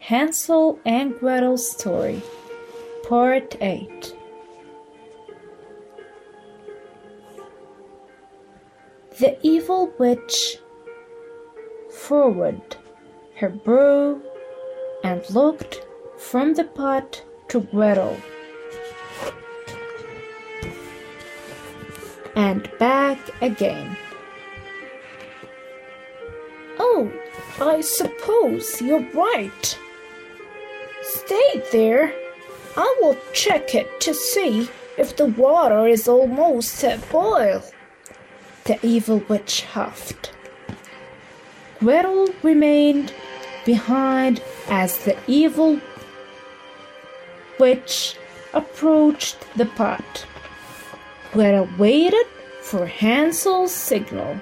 Hansel and Gretel Story, Part 8. The evil witch forwarded her brow and looked from the pot to Gretel and back again. "Oh, I suppose you're right. Stay there. I will check it to see if the water is almost at boil," the evil witch huffed. Gretel remained behind as the evil witch approached the pot. Gretel waited for Hansel's signal.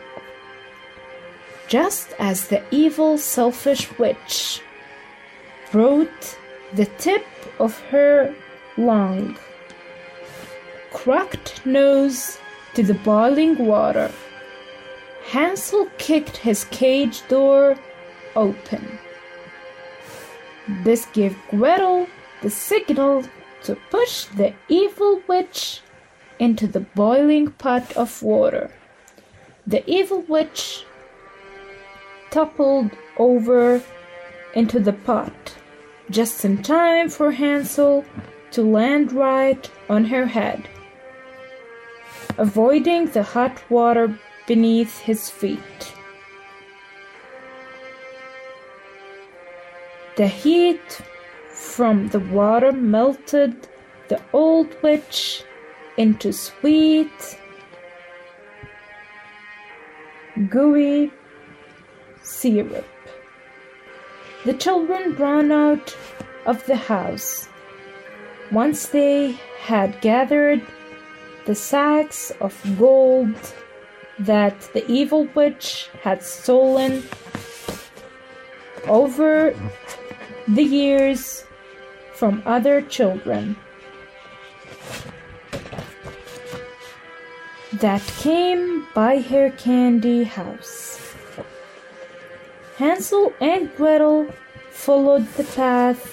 Just as the evil, selfish witch brought the tip of her long, cracked nose to the boiling water, Hansel kicked his cage door open. This gave Gretel the signal to push the evil witch into the boiling pot of water. The evil witch toppled over into the pot, just in time for Hansel to land right on her head, avoiding the hot water beneath his feet. The heat from the water melted the old witch into sweet, gooey syrup. The children ran out of the house. Once they had gathered the sacks of gold that the evil witch had stolen over the years from other children that came by her candy house. Hansel and Gretel followed the path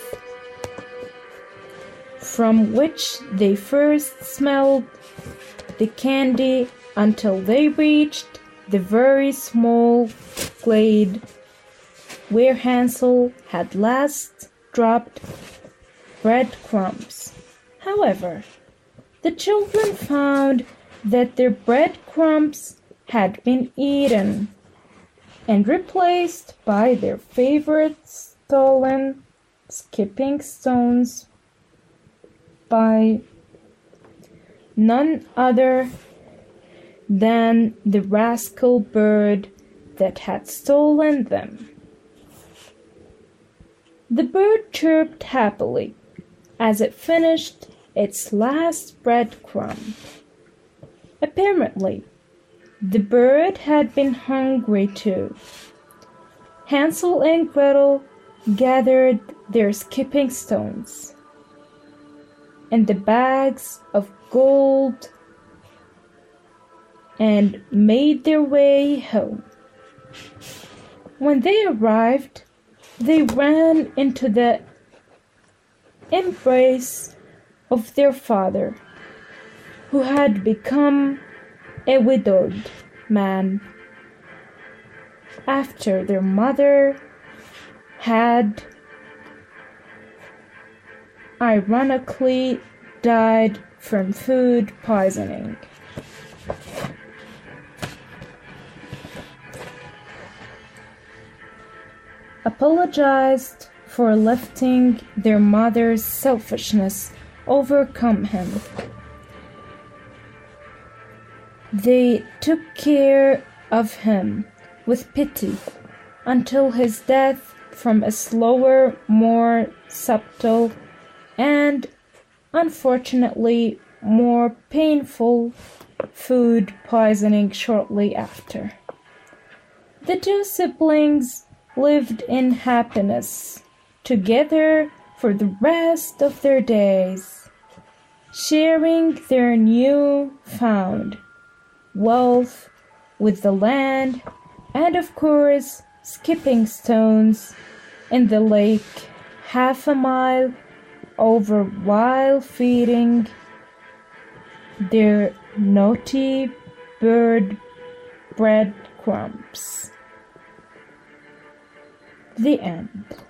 from which they first smelled the candy until they reached the very small glade where Hansel had last dropped breadcrumbs. However, the children found that their breadcrumbs had been eaten and replaced by their favorite stolen skipping stones by none other than the rascal bird that had stolen them. The bird chirped happily as it finished its last breadcrumb. Apparently, the bird had been hungry too. Hansel and Gretel gathered their skipping stones and the bags of gold and made their way home. When they arrived, they ran into the embrace of their father, who had become a widowed man after their mother had ironically died from food poisoning. Apologized for letting their mother's selfishness overcome him. They took care of him with pity until his death from a slower, more subtle, and unfortunately more painful food poisoning shortly after. The two siblings lived in happiness together for the rest of their days, sharing their new-found wealth with the land and, of course, skipping stones in the lake half a mile over while feeding their naughty bird breadcrumbs. The end.